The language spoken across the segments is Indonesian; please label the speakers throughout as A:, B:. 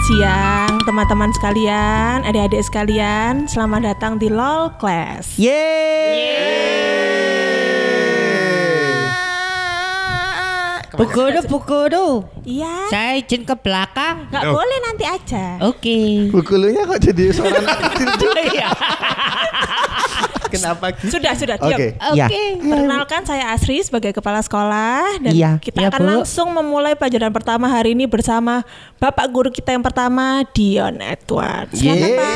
A: siang teman-teman sekalian, adik-adik sekalian. Selamat datang di LOL Class.
B: Pukul.
A: Iya.
B: Saya izin ke belakang.
A: Gak boleh, nanti aja.
B: Oke.
C: Pukulunya kok jadi suara anak kecil juga.
B: Iya.
C: Kenapa?
A: Sudah diam.
C: Oke.
A: Perkenalkan, saya Asri sebagai kepala sekolah dan
B: Iya.
A: kita
B: Iya,
A: akan
B: Bu.
A: langsung memulai pelajaran pertama hari ini bersama Bapak Guru kita yang pertama, Dion Edward. Silakan Pak.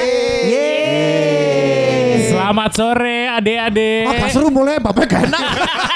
D: Selamat sore adik-adik.
C: Apa seru mulai Bapak gak enak.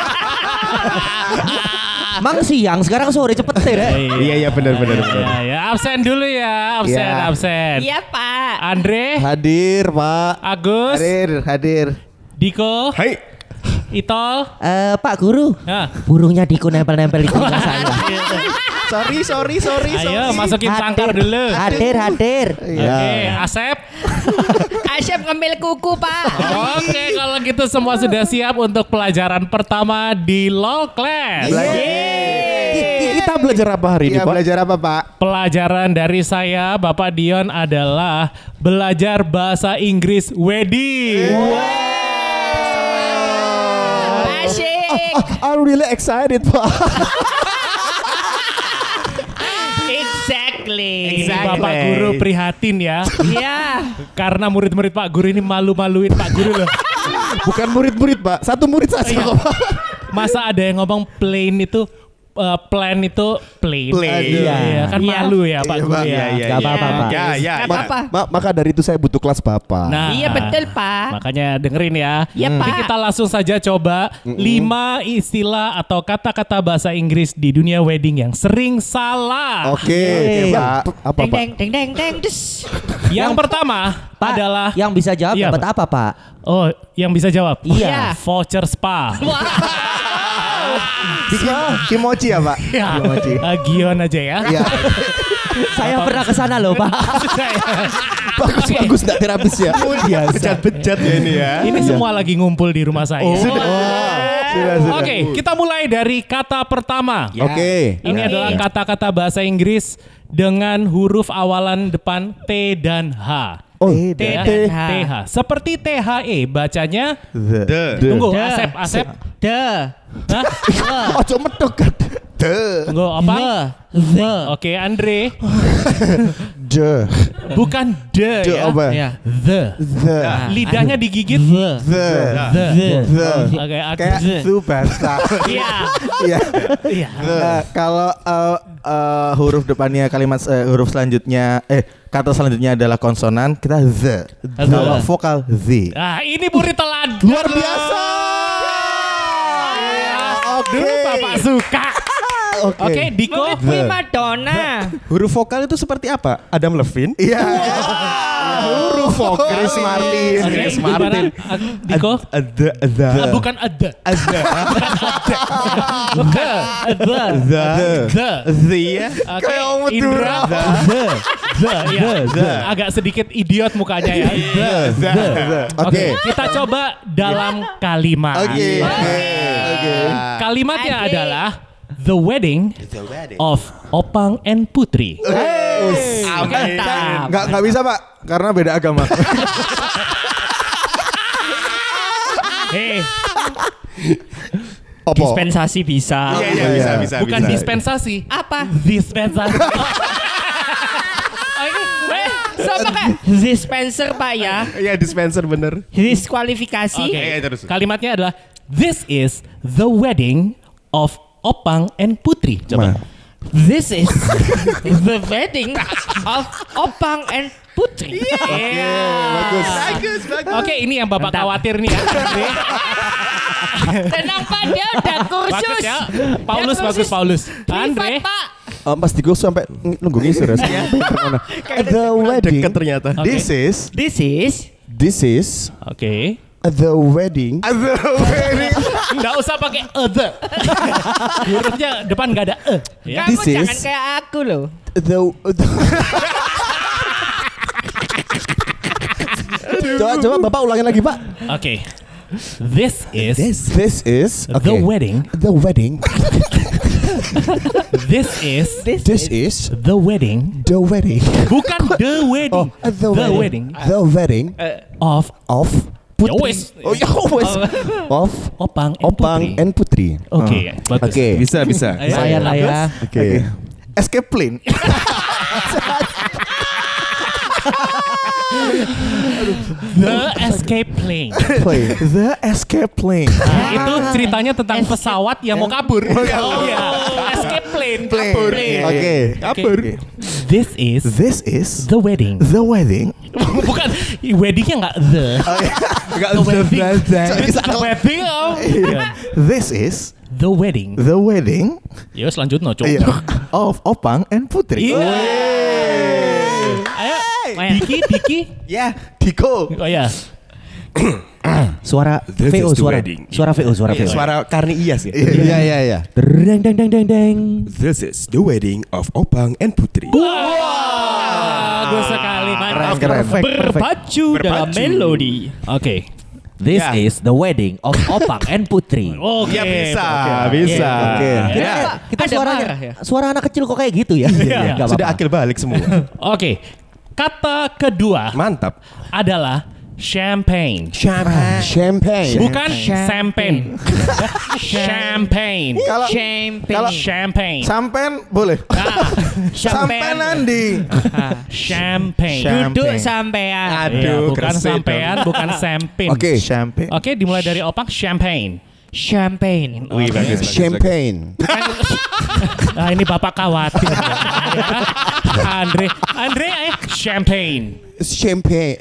E: Mang siang sekarang sore cepet deh.
C: Iya benar.
D: Ya, absen dulu ya, absen.
B: Iya, Pak.
D: Andre,
C: Hadir Pak.
D: Agus,
C: Hadir.
D: Diko,
C: Hai.
D: Itol.
E: Pak Guru,
D: Nah,
E: burungnya Diko nempel-nempel di telinga saya.
C: Sorry.
D: ayo masukin sangkar dulu.
E: Hadir.
D: Oke, Asep.
B: Asyap ngambil kuku, Pak.
D: Oke, kalau gitu semua sudah siap untuk pelajaran pertama di LOL Class.
C: Kita belajar apa hari ini Pak? Belajar apa Pak?
D: Pelajaran dari saya, Bapak Dion, adalah belajar bahasa Inggris wedding.
B: Asyik.
C: I'm really excited Pak.
B: Exactly.
D: Ini Bapak Guru prihatin ya.
B: Iya.
D: Karena murid-murid Pak Guru ini malu-maluin Pak Guru loh.
C: Bukan murid-murid Pak, satu murid saja
D: Iya.
C: kok Pak.
D: Masa ada yang ngomong plain itu plan itu plain.
C: Plain.
D: Iya, kan malu ya Pak Guru ya.
E: Gak apa-apa Pak.
B: Gak apa-apa.
C: Maka dari itu saya butuh kelas Bapak.
D: Nah,
B: Iya, betul, Pak.
D: makanya dengerin ya.
B: Iya,
D: Jadi
B: Pak.
D: kita langsung saja coba 5 istilah atau kata-kata bahasa Inggris di dunia wedding yang sering salah.
C: Oke, Pak. Apa Pak?
B: Deng. Des.
D: Yang pertama
E: Pak,
D: adalah
E: yang bisa jawab
D: Iya,
E: dapat apa Pak?
D: oh, yang bisa jawab.
E: Iya.
D: Voucher spa.
C: Kimochi ya Pak?
D: Ya,
C: Kimochi.
D: Gion aja ya.
C: Iya.
E: Saya pernah ke sana loh Pak.
C: Bagus enggak terapis ya? Bejat-bejat ya ini ya.
D: Ini semua lagi ngumpul di rumah saya.
C: Sudah.
D: Oke, kita mulai dari kata pertama.
C: Oke.
D: Ini adalah kata-kata bahasa Inggris dengan huruf awalan depan T dan H.
C: Oh,
D: T ya, TH. Seperti THE bacanya. Tunggu, Asep. Hah?
C: Ojo medok kan.
D: Tunggu, apa? Oke, Andre. Bukan the ya.
C: Apa?
D: The.
C: The.
D: Lidahnya digigit. Oke,
C: Kayak Tsubasa.
D: Iya.
C: Iya. Kalau huruf depannya kalimat huruf selanjutnya kata selanjutnya adalah konsonan, kita the. Kalau vokal the.
D: Nah, ini murid teladan.
C: Luar biasa.
D: Dulu Bapak suka. Oke, Diko.
B: Prima donna.
F: Huruf vokal itu seperti apa? Adam Levine?
C: Iya. Huruf vokal Chris Martin.
D: Oke,
C: Chris
D: gimana?
C: Martin.
D: Diko.
F: Ada.
D: Bukan ada.
F: The ya.
D: Oke,
C: Kayak Om
D: Indra. The. Agak sedikit idiot mukanya ya. Oke, kita coba dalam kalimat.
C: Oke.
D: Kalimatnya adalah The Wedding of Opang and Putri.
C: Nggak bisa Pak, karena beda agama.
D: Hei,
C: Opo.
B: Dispensasi bisa.
F: Iya, bisa.
D: bukan dispensasi.
B: Apa?
D: Dispensasi.
B: Sama kayak dispenser, Pak ya.
F: Iya, dispenser bener.
B: Diskualifikasi.
D: Oke,
F: Iya, terus.
D: kalimatnya adalah This is the wedding of Opang and Putri. Coba.
B: This is the wedding of Opang and Putri.
C: Bagus.
D: Oke, ini yang Bapak khawatir nih ya.
B: Tenang Pak, dia udah kursus.
D: Bagus ya. Paulus. Andre.
B: Privat, Pak.
C: Pas di gue sampai nunggu ngisir ya. The wedding.
F: Deket ternyata.
D: Oke.
C: This is
D: Oke.
C: the wedding.
D: Nggak usah pakai the. Hurufnya depan nggak ada ya.
B: Kamu
C: This
B: jangan
C: is-
B: kayak aku loh.
C: Coba Bapak ulangin lagi Pak.
D: Oke. This is
F: This is
D: the wedding.
F: The wedding.
D: This is
F: This is
D: the wedding.
F: the wedding.
D: Bukan the wedding.
F: The
D: wedding.
F: The wedding
D: Of
F: of
D: Ya
F: Putri.
D: wes.
F: Oh ya wes. Of
D: Opang and
F: Opang
D: Putri.
F: and Putri.
D: Oke, bagus.
F: Oke.
C: Bisa.
D: Ayo,
E: Saya lah ya.
F: Oke.
C: Escape plane.
D: The Escape Plane.
C: The escape plane.
D: Nah, itu ceritanya tentang pesawat yang mau kabur. Oh iya. Escape plane. Kabur.
C: Oke.
F: Kabur.
D: This is the wedding.
C: The wedding.
D: Bukan weddingnya nggak the.
F: Enggak
D: The wedding.
F: the
D: The wedding. Oh.
C: This is
D: The wedding.
C: the wedding
D: Ya selanjutnya coba.
C: of Opang and Putri.
D: Iya. Ayo, Diki.
C: Ya, Diko.
D: Oh ya.
E: Suara
F: This
E: VO
F: is the
E: suara.
F: wedding.
E: Suara VO suara VO.
F: Suara Karni Iyas ya.
C: Iya.
E: Deng deng deng deng deng.
F: This is the wedding of Opang and Putri.
B: Bagus sekali. Mantap.
C: Keren.
B: Berpacu dalam melodi.
D: Oke.
E: This
F: Ya.
E: is the wedding of Opang and Putri.
D: Oke.
F: Ya bisa.
C: Oke.
E: Kita
B: Ada
E: suaranya
B: marah ya?
E: suara anak kecil kok kayak gitu ya?
D: Iya.
E: Nggak
F: Sudah
E: apa-apa.
F: akil balik semua.
D: Oke. Kata kedua
F: Mantap.
D: adalah champagne.
F: Champagne.
D: Bukan champagne. Champagne.
C: Kalau
D: Champagne.
C: sampen boleh. Sampen Andi.
D: Champagne.
B: Duduk
C: Champagne.
B: sampean.
F: Aduh,
D: Iya, bukan
F: gresik
D: sampean, bukan champagne.
F: Oke.
C: Champagne.
D: Oke, dimulai dari Opang champagne.
B: Champagne.
F: Wih, bagus. Champagne.
D: Ah, ini Bapak khawatir. Andre, ayo champagne.
F: Champagne.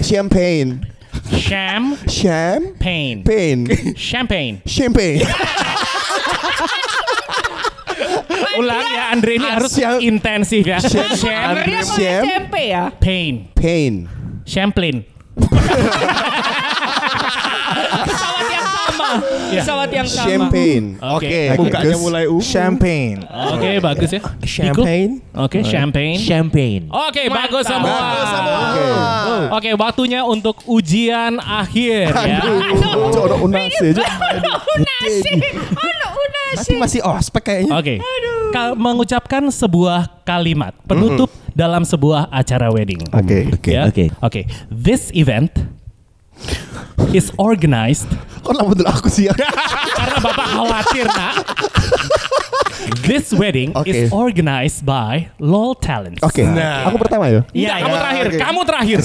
D: Champagne. Champagne.
F: Champagne.
D: Ulang ya, Andre ini harus intensif ya.
B: Sebenarnya pakai tempe ya.
D: Champagne. Champagne.
B: Pesawat yang sama.
F: Champagne.
D: Oke.
F: Mukanya mulai
C: Champagne.
D: Oke, bagus ya.
F: Champagne.
D: Oke, champagne.
E: Champagne.
D: Oke, bagus semua.
F: Bagus semua.
D: Oke, waktunya untuk ujian akhir ya.
F: Coba unasi aja.
B: Unasi.
F: Nanti masih ospek kayaknya.
D: Oke. Mengucapkan sebuah kalimat penutup dalam sebuah acara wedding.
C: Oke.
D: Ya?
E: Oke.
D: Oke. This event is organized
F: Kok lama dulu aku sih ya?
D: karena Bapak khawatir, Nak. This wedding is organized by LOL Talents.
F: Oke. Aku pertama ya.
D: Iya, kamu terakhir.
F: oke.
D: Kamu terakhir.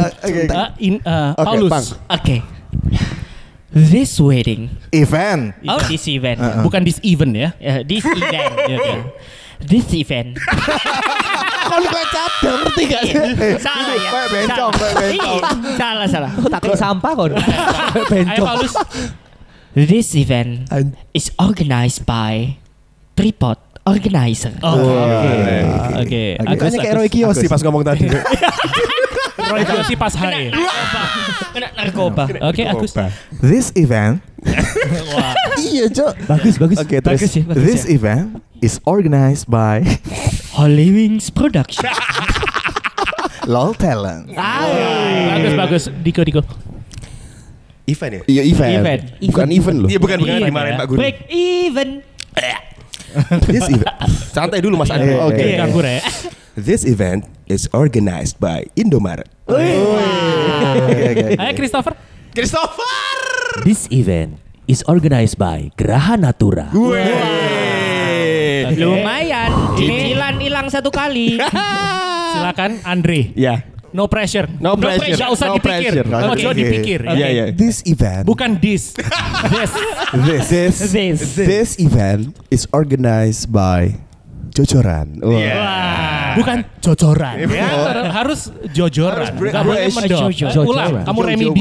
F: Oke,
D: Paulus.
F: Bang.
B: Oke. This wedding.
C: Event.
B: Oh, this event.
D: Bukan this event ya.
B: This event.
D: Iya, iya.
B: This event.
F: Kalau gue cadang ngerti gak sih?
B: Salah ya.
C: Kayak bencong, kayak bencong.
B: Iya, salah.
E: Takut sampah kon.
D: Ayo
E: Bencong.
D: Paulus.
B: This event is organized by Tripod Organizer.
D: Oke.
F: Kayaknya kayak Roy Kiyoshi pas ngomong tadi.
D: Roy Kiyoshi pas hari.
B: Kena narkoba.
D: Oke, Agus.
C: This event.
F: Iya, Cok.
E: Bagus.
F: Oke, terus.
B: Bagus ya.
C: This event is organized by
B: Holy Wings Production.
C: LOL Talent.
D: Bagus. Diko.
F: Event ya? Iya, event. Bukan event loh. Iya, bukan
D: Event
F: dimarahin
D: ya.
F: Pak Guru.
B: Break even.
F: This event. Santai dulu Mas Andi.
C: Oke.
D: Ganggu ya.
F: This event is organized by Indomaret.
D: Ayo Christopher.
E: This event is organized by Geraha Natura.
B: Lumayan. Cicilan hilang 1 kali.
D: Silakan Andre.
F: Ya.
D: No pressure.
F: No pressure.
D: Gak usah
F: No
D: dipikir.
F: pressure.
D: Ojo
C: Oke.
D: dipikir.
F: Iya, iya.
C: This event.
D: Bukan this.
F: This event is organized by Jojoran.
D: Wah. Bukan jojoran. Ya, harus jojoran. Gak boleh mendok.
B: Jojoran.
D: Ulang. Kamu remedi.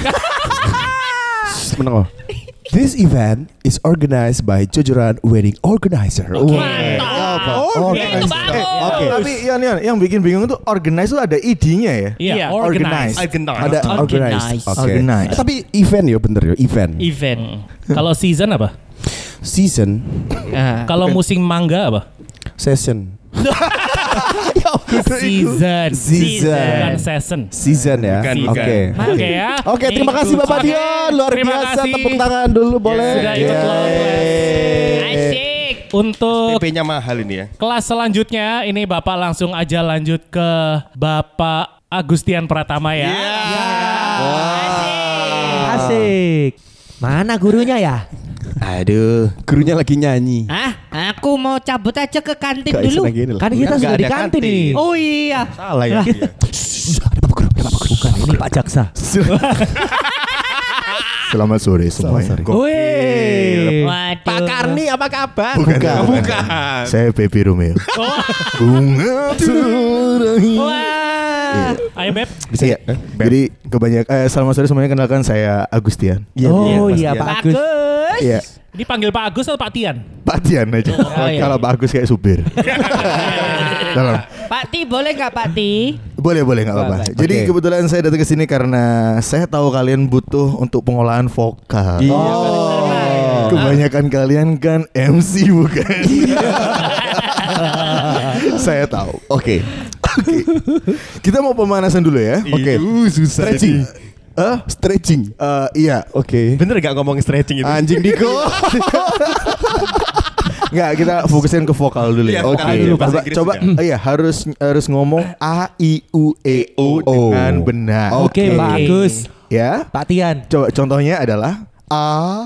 F: Menang. This event is organized by Jojoran Wedding Organizer.
D: Mantap.
B: Itu bagus.
C: Oke. Tapi yang bikin bingung tuh organize tuh ada ID-nya ya.
D: Iya,
C: Organize.
D: organize.
F: Ada organized. Oke.
C: Organized.
F: Tapi event ya bener ya, event.
B: Event.
D: Kalau season apa?
F: Season,
D: Kalau musim mangga apa?
F: session.
D: Season. Bukan season.
F: Season ya.
B: Bukan.
F: Oke.
D: Oke ya.
F: Oke, terima kasih Bapak Dion. Luar
D: Terima
F: biasa.
D: kasih.
F: Tepuk tangan dulu boleh.
D: Sudah ikut
B: Asik.
D: Untuk
B: PP-nya mahal ini ya.
D: kelas selanjutnya ini Bapak langsung aja lanjut ke Bapak Agustian Pratama ya.
E: Asik. Mana gurunya ya?
F: Aduh, gurunya lagi nyanyi.
B: Aku mau cabut aja ke kantin
F: Gak
B: dulu.
F: istilah gini lah.
E: Kan kita
B: Nggak
E: sudah
B: ada
E: di kantin ini.
B: Oh iya.
C: Salah ya.
E: Bukan ini Pak Jaksa.
C: Selamat sore semuanya.
E: Wih.
B: Waduh. Pak Karni apa kabar?
C: Bukan. Saya Baby Romeo. Bunga terakhir.
B: Wah.
D: Ayo Beb.
C: Bisa ya? Jadi kebanyakan selamat sore semuanya, kenalkan saya Agustian.
E: Oh iya Pak Agus.
B: Bagus.
C: Iya,
D: Ini panggil Pak Agus atau Pak Tian?
C: Pak Tian aja.
B: iya.
C: Kalau Pak Agus kayak supir. Tolong.
B: Pak Ti boleh nggak Pak Ti?
C: Boleh nggak apa-apa. Jadi
F: Oke.
C: kebetulan saya datang ke sini karena saya tahu kalian butuh untuk pengolahan vokal. Kebanyakan kalian kan MC bukan? Saya tahu.
F: Oke.
C: Kita mau pemanasan dulu ya.
F: Oke. Stretching. Stretching.
C: Iya.
F: Oke.
B: Bener nggak ngomong stretching itu?
F: Anjing Diko.
C: Nggak, kita fokusin ke vokal dulu ya.
B: Iya, vokal dulu, bahasa Inggris
C: Coba
B: juga.
C: iya harus ngomong A I U E O dengan benar.
E: Oke Pak Agus.
C: Ya.
E: Pak Tian.
C: Coba contohnya adalah A.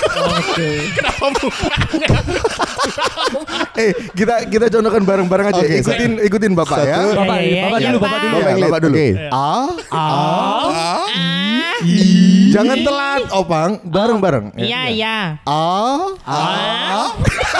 C: Kita contohkan bareng-bareng aja.
F: Oke,
C: Ikutin Bapak ya.
E: Bapak dulu, Bapak dulu.
C: Iya, Bapak dulu.
F: Oke.
C: A. Jangan telat, Opang. Bareng-bareng.
B: Iya.
C: A.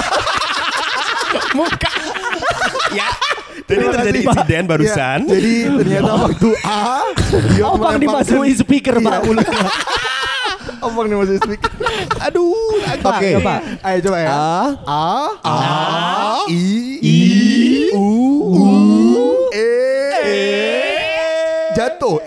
B: Ya. Jadi terjadi insiden barusan.
C: Ya, jadi ternyata waktu A dia
E: Opang
C: melemparkan-
E: dimasukin speaker Pak.
C: Iya, mulutnya. Opang dimasukin speaker. Aduh,
F: Oke.
E: Coba.
C: Ayo coba ya. A I U E jatuh.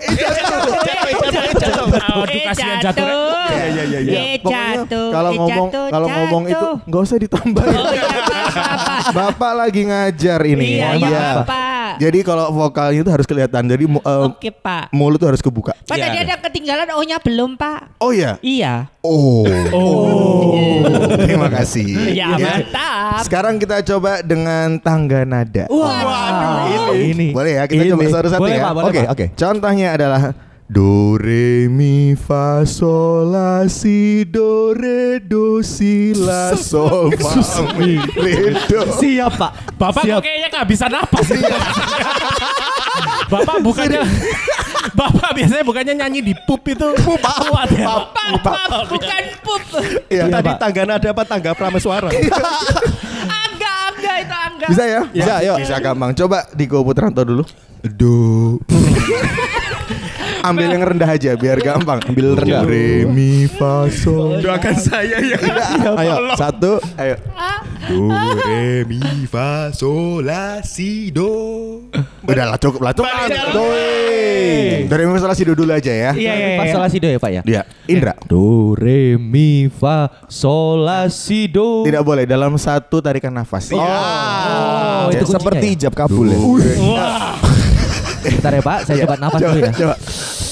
D: Aduh kasihan jatuh.
C: Iya. Pokoknya
B: Jatuh.
C: kalau ngomong itu nggak usah ditambahin.
B: Oh iya, apa?
C: Bapak lagi ngajar ini.
B: Iya,
C: ya.
B: iya, Pak.
C: Jadi kalau vokalnya itu harus kelihatan. Jadi
B: Oke, Pak.
C: mulut tuh harus kebuka.
B: Pak tadi ada ketinggalan O-nya belum, Pak?
C: Oh ya.
B: Iya.
C: Oh. Terima kasih.
B: Ya, mantap.
C: Sekarang kita coba dengan tangga nada.
B: Waduh.
E: Ini.
C: Boleh ya, kita coba satu-satu
E: Boleh,
C: ya.
E: Pak, boleh,
C: Oke,
E: Pak.
C: oke. Contohnya adalah do re mi fa sol la si do re do si la sol fa mi re do.
E: Siap Pak.
D: Bapak kok kayaknya kehabisan napas. Bapak biasanya bukannya nyanyi di pup itu. Kuat ya.
B: Pap, bukan pup.
C: Iya.
F: Tadi tangga nada apa tangga prameswara?
B: Angga itu Angga.
C: Bisa ya?
F: Bisa, yuk.
C: Bisa gampang. Coba Diko Putranto dulu. Do. Ambil yang rendah aja biar gampang. Ambil rendah. Re mi fa sol.
B: Doakan saya ya.
F: Ayo, satu.
C: Ayo.
F: Do re mi fa sol la si do.
C: Udahlah cukup lah. Dari mi fa sol la si do dulu aja ya.
E: Iya. Fa sol la si do ya Pak ya.
C: Iya. Indra.
E: Do re mi fa sol la si do.
C: Tidak boleh dalam satu tarikan nafas.
E: Oh, itu kuncinya
F: Seperti
E: ya?
F: ijab kabul ya.
E: Bentar ya Pak, saya coba nafas dulu ya.
C: Coba.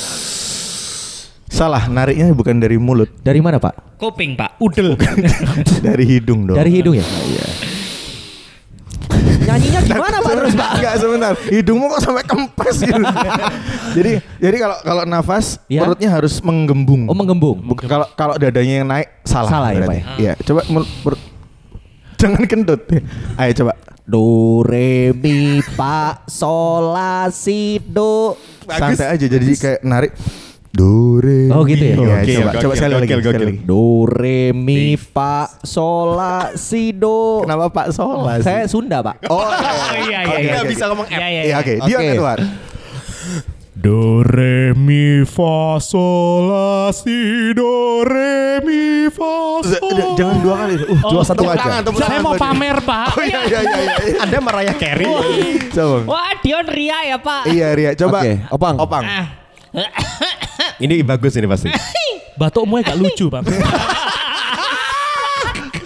C: Salah, nariknya bukan dari mulut,
E: Dari mana Pak?
B: Kuping, Pak.
D: Udel.
C: dari hidung dong.
E: Dari hidung ya? Iya. Nyanyinya gimana Pak terus Pak?
C: Enggak, sebentar. Hidungmu kok sampai kempes gitu. jadi kalau nafas
E: Ya.
C: perutnya harus menggembung.
E: Oh menggembung.
C: Kalau dadanya yang naik salah.
E: Salah ya,
C: berarti.
E: Pak
C: Iya, coba perut. Jangan kentut. Ayo coba.
E: Do re mi fa sol la si do.
C: Santai aja jadi kayak narik. Do re.
E: Oh, gitu ya?
C: Iya,
F: Oke,
C: coba
F: oke,
C: coba sekali lagi.
F: gokil,
C: sekali
F: gokil.
C: lagi.
E: Do re mi fa sol la si do.
C: Kenapa Pak Sola sih?
E: Saya Sunda Pak.
C: Oh,
B: Iya,
C: Oke,
B: iya.
C: oke.
B: Bisa ngomong F.
C: Iya, oke. Dion
F: Oke.
C: Edward.
D: Do re mi fa sol la si do re mi fa sol.
C: Jangan dua kali.
F: Dua satu aja.
D: Saya mau pamer Pak.
C: Oh iya.
F: Anda Mariah Carey.
C: Coba.
B: Wah, Dion Ria ya, Pak.
C: Iya, Ria. Coba.
F: Oke, Opang.
C: Opang.
F: Ini bagus ini pasti.
D: Batukmu gak lucu Pak.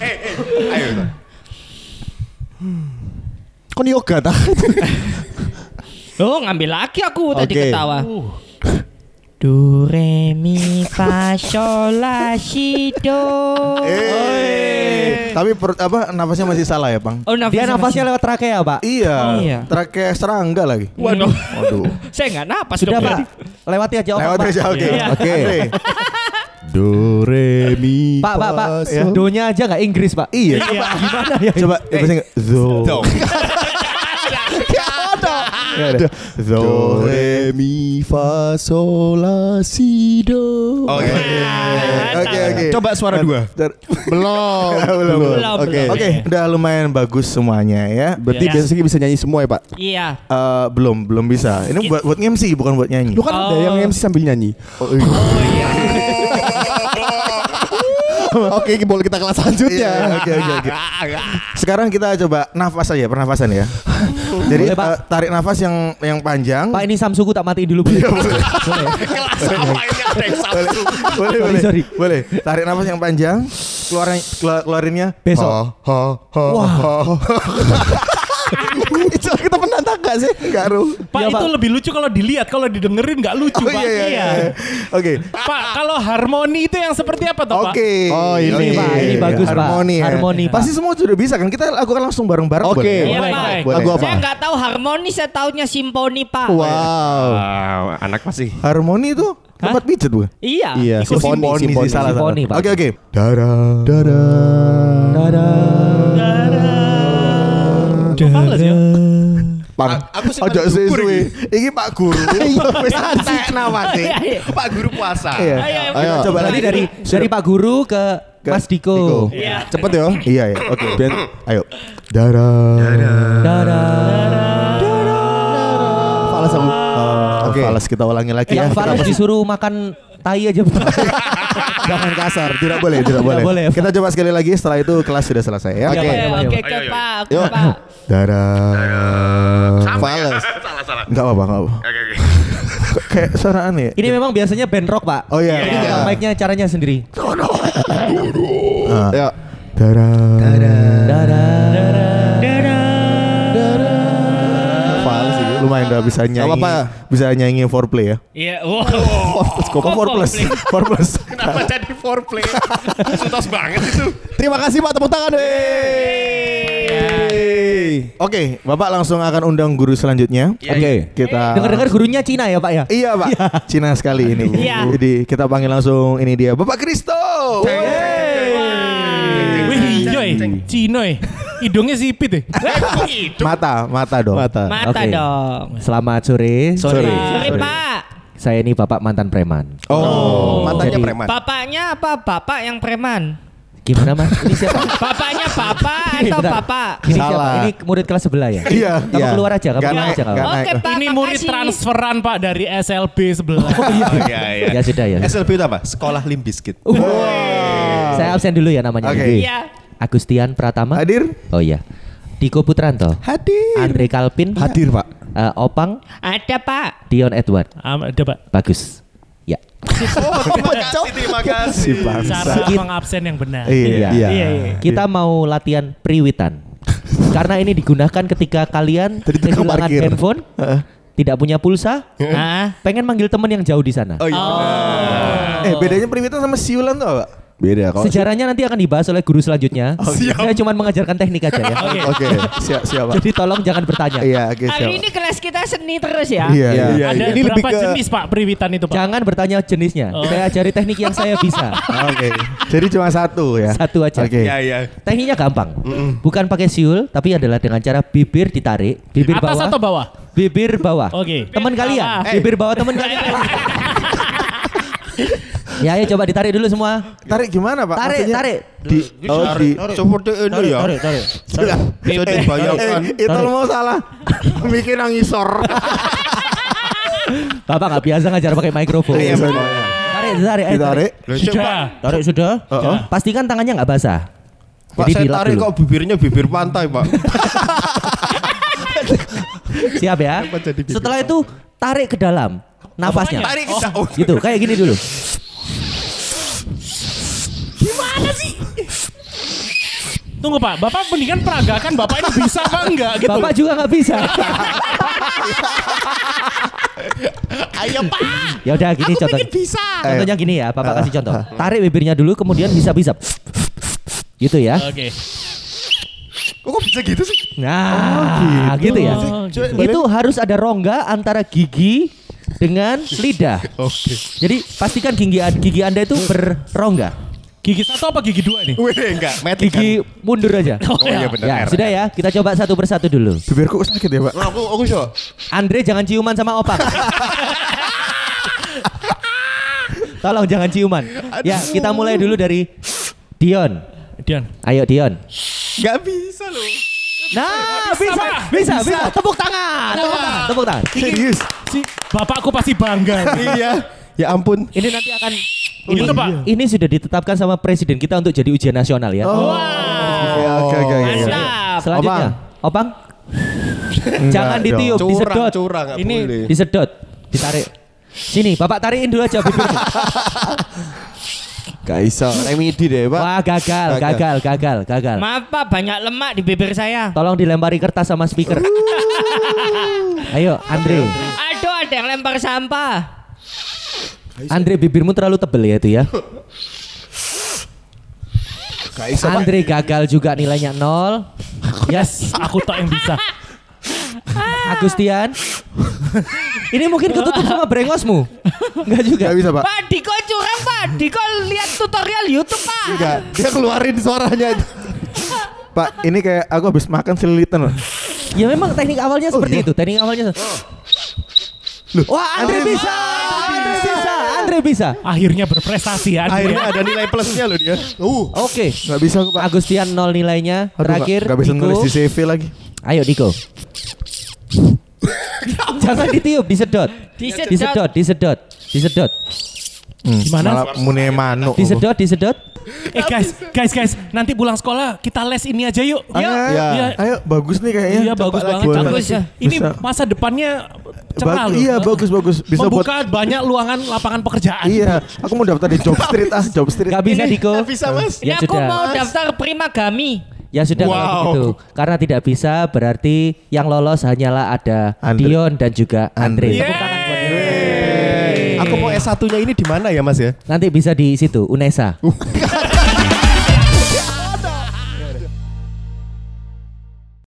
F: Kon yoga tak?
B: Oh, ngambil lagi aku tadi
F: Oke.
B: ketawa. Do re mi fa sol la si do.
C: Tapi nafasnya masih salah ya, Bang?
B: Oh,
E: Dia nafasnya lewat trakea, Pak.
C: Iya.
B: Oh, iya.
C: Trakea serangga lagi.
B: Waduh.
C: Waduh.
B: Saya enggak napas
E: Sudah,
B: dong,
E: Pak. Lewati aja
C: Lewat
E: Pak.
C: aja, oke.
B: Iya.
C: Oke.
F: Do re mi
E: Pak,
F: fa sol.
E: Do-nya aja nggak Inggris, Pak.
C: Iya.
E: Gimana ya?
C: Coba bahasa Inggris. Do.
F: Do. Do re mi fa sol la si do.
C: Oke.
F: Coba suara 2.
C: Belum.
B: Belum.
C: Oke, udah lumayan bagus semuanya ya.
F: Berarti
B: Iya.
F: biasanya bisa nyanyi semua ya, Pak?
B: Iya.
C: Belum bisa. Ini buat MC bukan buat nyanyi.
F: Lu kan ada yang MC sambil nyanyi. Oke, boleh kita kelas selanjutnya.
C: Iya, oke. Sekarang kita coba nafas aja, pernafasan ya. Jadi
E: Boleh, Pak.
C: tarik nafas yang panjang.
E: Pak, ini Samsuku tak matiin dulu. Boleh.
C: Boleh.
E: Sorry.
C: Boleh. Tarik nafas yang panjang. Keluarinnya
E: Besok.
F: Itu kita penantang gak sih?
C: Enggak, Ru.
D: Pak,
E: Iya,
D: itu
E: Pak.
D: lebih lucu kalau dilihat, kalau didengerin nggak lucu, Pak.
C: Iya. Oke.
D: Pak, kalau harmoni itu yang seperti apa toh, Pak?
C: Oke.
F: Oh, ini,
C: Oke.
E: Pak. Ini bagus, Pak.
C: Harmoni ya.
E: Harmoni, Pak.
C: Pasti semua sudah bisa kan? Kita lakukan langsung bareng-bareng.
F: Oke.
C: boleh?
B: Iya,
D: Boleh,
B: Pak.
D: boleh.
F: Lagu apa?
B: Saya enggak tahu harmoni, saya taunya simfoni, Pak.
F: Wow.
G: Anak masih.
C: Harmoni itu tempat pijat bukan?
B: Iya.
F: Iya,
C: Simfoni sih, salah.
E: Simfoni, Pak.
C: Oke.
F: Dara.
D: Males ya?
C: Pang.
G: Aku sih
C: Ojo
G: pada gugur
C: suwe. Iki Pak Guru. Wis antek namanya.
G: Pak Guru puasa.
C: Iya.
F: Ayo.
C: Coba
E: Berarti
C: lagi
E: dari Pak Guru ke Mas Diko.
B: Iya.
F: Cepet ya.
C: Iya ya. Oke. Ayo.
F: Dara.
C: Falas aku. Oke. Falas kita ulangi lagi ya.
E: Yang Falas disuruh makan tai aja.
C: Jangan kasar. Tidak boleh.
E: boleh, Pak.
C: Kita coba sekali lagi. Setelah itu kelas sudah selesai ya.
E: Oke.
B: Oke, Pak.
F: Yuk.
B: Pak.
F: Dara.
C: Falas.
G: Salah.
C: Enggak apa-apa.
G: Oke.
C: Kayak suara aneh.
E: Ini memang biasanya band rock, Pak.
C: Oh iya.
E: Ini tukang mic-nya caranya sendiri.
F: Ayo. Dara.
C: Falas sih. Lumayan udah bisa nyanyi.
F: Gak apa-apa.
C: Bisa nyanyi foreplay ya.
B: Iya. Wow.
C: Kok 4+.
G: Kenapa jadi foreplay? Sutos banget itu.
F: Terima kasih Pak, tepuk tangan.
C: Oke, Bapak langsung akan undang guru selanjutnya.
F: Oke.
C: Kita
E: Dengar-dengar gurunya Cina ya, Pak ya?
C: Iya, Pak. Cina sekali ini, Bu.
B: Iya.
C: Jadi kita panggil langsung ini dia, Bapak Kristo.
D: Wih, iya, Cinoy. Hidungnya sipit ya.
C: Mata dong.
F: Mata.
B: Mata
E: Oke.
B: dong.
E: Selamat sore.
B: Sorry, Pak.
E: Saya ini Bapak mantan preman.
F: Oh,
G: Mantannya
E: Jadi-
G: preman.
B: Bapaknya apa? Bapak yang preman.
E: Gimana, Mas? Ini siapa?
B: Bapaknya bapak atau
E: Bentar.
B: bapak?
E: Ini
C: Salah.
E: siapa? Ini murid kelas sebelah ya?
C: Iya.
E: Kamu
C: Iya.
E: keluar aja, kamu
C: Gak
E: keluar
C: naik,
E: aja.
C: gak
E: Kamu.
C: naik.
B: Oke, Pak.
D: Ini murid
B: makasih.
D: transferan, Pak, dari SLB sebelah.
G: Iya.
E: Ya sudah ya.
G: SLB itu apa? Sekolah Limp Bizkit.
E: Saya absen dulu ya namanya.
C: Oke.
B: Iya.
E: Agustian Pratama.
C: Hadir?
E: Oh iya. Diko Putranto.
F: Hadir.
E: Andre Kalpin.
F: Hadir Pak.
E: Opang.
B: Ada, Pak.
E: Dion Edward.
D: Ada, Pak.
E: Bagus. Ya.
G: Terima kasih.
D: Cara mengabsen yang benar.
C: Iya.
F: Iya.
E: Kita mau latihan priwitan. Karena ini digunakan ketika kalian
C: Tadi tukang
E: kehilangan
C: parkir.
E: handphone, tidak punya pulsa, pengen manggil teman yang jauh di sana.
G: Oh iya.
C: Bedanya priwitan sama siulan tuh, Pak?
F: Beda kalau
E: Sejarahnya nanti akan dibahas oleh guru selanjutnya. Saya cuma mengajarkan teknik aja ya.
C: Oke. Siap, Pak.
E: Jadi tolong jangan bertanya.
C: Iya, oke, siap.
B: Hari ini kelas kita seni terus ya.
C: Iya.
D: Ada
F: Ini lebih
D: berapa
F: ke-
D: jenis, Pak, priwitan itu, Pak?
E: Jangan bertanya jenisnya. Saya ajari teknik yang saya bisa.
C: Oke. Jadi cuma satu ya.
E: Satu aja.
C: Oke.
G: Iya.
E: Tekniknya gampang. Bukan pakai siul, tapi adalah dengan cara bibir ditarik, bibir
D: Atas
E: bawah,
D: atau bawah?
E: bibir bawah.
D: Oke.
E: Teman kalian,
D: Bawah.
E: bibir bawah teman kalian. Ya, ayo coba ditarik dulu semua.
C: Tarik gimana, Pak?
E: Tarik,
C: Maksudnya
E: tarik.
C: Di
G: Seperti ini ya.
E: Tarik.
G: Bisa dibayangkan.
C: itu mau salah. Bikin nangisor.
E: Bapak nggak biasa ngajar pakai mikrofon.
C: Iya, benar.
E: Tarik.
C: Ditarik.
D: Sudah.
E: Tarik sudah. Pastikan tangannya nggak basah.
G: Pak,
E: Jadi
G: saya
E: dilap
G: tarik
E: dulu.
G: kok bibirnya bibir pantai, Pak.
E: Siap ya. Setelah itu tarik ke dalam nafasnya.
G: Tarik ke daun.
E: Gitu, kayak gini dulu.
D: Tunggu Pak, Bapak mendingan peragakan Bapak ini bisa apa enggak gitu.
E: Bapak juga nggak bisa.
F: Ayo Pak.
E: Ya udah gini contoh.
F: Bisa.
E: Contohnya gini ya, Bapak kasih contoh. Tarik bibirnya dulu kemudian bisa-bisa. Gitu ya.
D: Oke.
F: Kok bisa gitu sih?
E: Nah, gitu ya. Itu harus ada rongga antara gigi dengan lidah.
F: Oke.
E: Jadi pastikan gigi Anda itu berrongga.
D: Gigi 1 apa gigi 2 nih?
F: Wih, enggak. Metik kan?
E: Gigi mundur aja.
F: Oh iya benar.
E: Ya, sudah ya. Kita coba satu persatu dulu.
C: Bibirku sakit ya, Pak.
F: Aku show.
E: Andre jangan ciuman sama Opang. Tolong jangan ciuman. Ya, kita mulai dulu dari Dion.
D: Dion.
E: Ayo Dion.
F: Enggak bisa loh.
E: Nah,
D: Bisa, Pak.
E: bisa. Tepuk tangan. Tepuk tangan.
C: Serius.
D: Si bapakku pasti bangga.
F: Iya. Ya ampun.
E: Ini nanti akan
D: Itu, Pak.
E: Ini sudah ditetapkan sama presiden kita untuk jadi ujian nasional ya.
C: Oke.
B: Mantap.
E: Selanjutnya, Opang. Jangan ditiup, disedot.
F: Curang enggak
D: Ini
F: boleh.
E: Disedot, ditarik. Sini, Bapak tarikin dulu aja bibirnya.
F: Gak bisa. Remedi deh, Pak.
E: Wah, gagal.
B: Maaf Pak, banyak lemak di bibir saya.
E: Tolong dilempari kertas sama speaker. Ayo, Andre.
B: Aduh, ada yang lempar sampah.
E: Andre, bibirmu terlalu tebel ya itu ya.
F: Gak bisa, Pak.
E: Andre gagal juga, nilainya 0.
D: Yes, aku tak yang bisa.
E: Agustian. Ini mungkin ketutup sama brengosmu. Enggak juga.
C: Gak bisa, Pak.
B: Pak Diko curang Pak. Diko lihat tutorial YouTube Pak.
F: Enggak. Dia keluarin suaranya itu.
C: Pak, ini kayak aku habis makan selilitan loh.
E: Ya memang teknik awalnya seperti itu. Teknik awalnya. Wah, Andre bisa.
D: Akhirnya berprestasi ya.
F: Akhirnya ada nilai plusnya loh dia.
E: Oke.
C: Gak bisa aku, Pak.
E: Agustian 0 nilainya.
C: Aduh,
E: Terakhir
C: Gak bisa
E: Diko.
C: nulis di CV lagi.
E: Ayo Diko. Jangan ditiup, disedot. Disedot.
D: Gimana?
C: Malah mune manuk.
E: Disedot.
D: Guys, nanti pulang sekolah kita les ini aja yuk.
C: Ayo, bagus nih kayaknya.
D: Iya, bagus banget.
C: Boleh.
B: Bagus ya.
D: Ini
C: Bisa.
D: masa depannya cerah loh.
C: Iya, bagus. Bisa buat.
D: Membuka banyak luangan lapangan pekerjaan.
C: Iya, aku mau daftar di Job Street Job Street.
E: Gak bisa Diko.
F: Gak bisa, Mas.
B: Ini
E: Ya
B: aku
E: sudah.
B: mau daftar Primagami.
E: Ya sudah kalau begitu. Karena tidak bisa berarti yang lolos hanyalah ada
C: Andre.
E: Dion dan juga Andre.
C: Andre.
E: Tepuk tangan buat dia.
F: Aku mau S1-nya ini di mana ya, Mas ya?
E: Nanti bisa di situ, UNESA.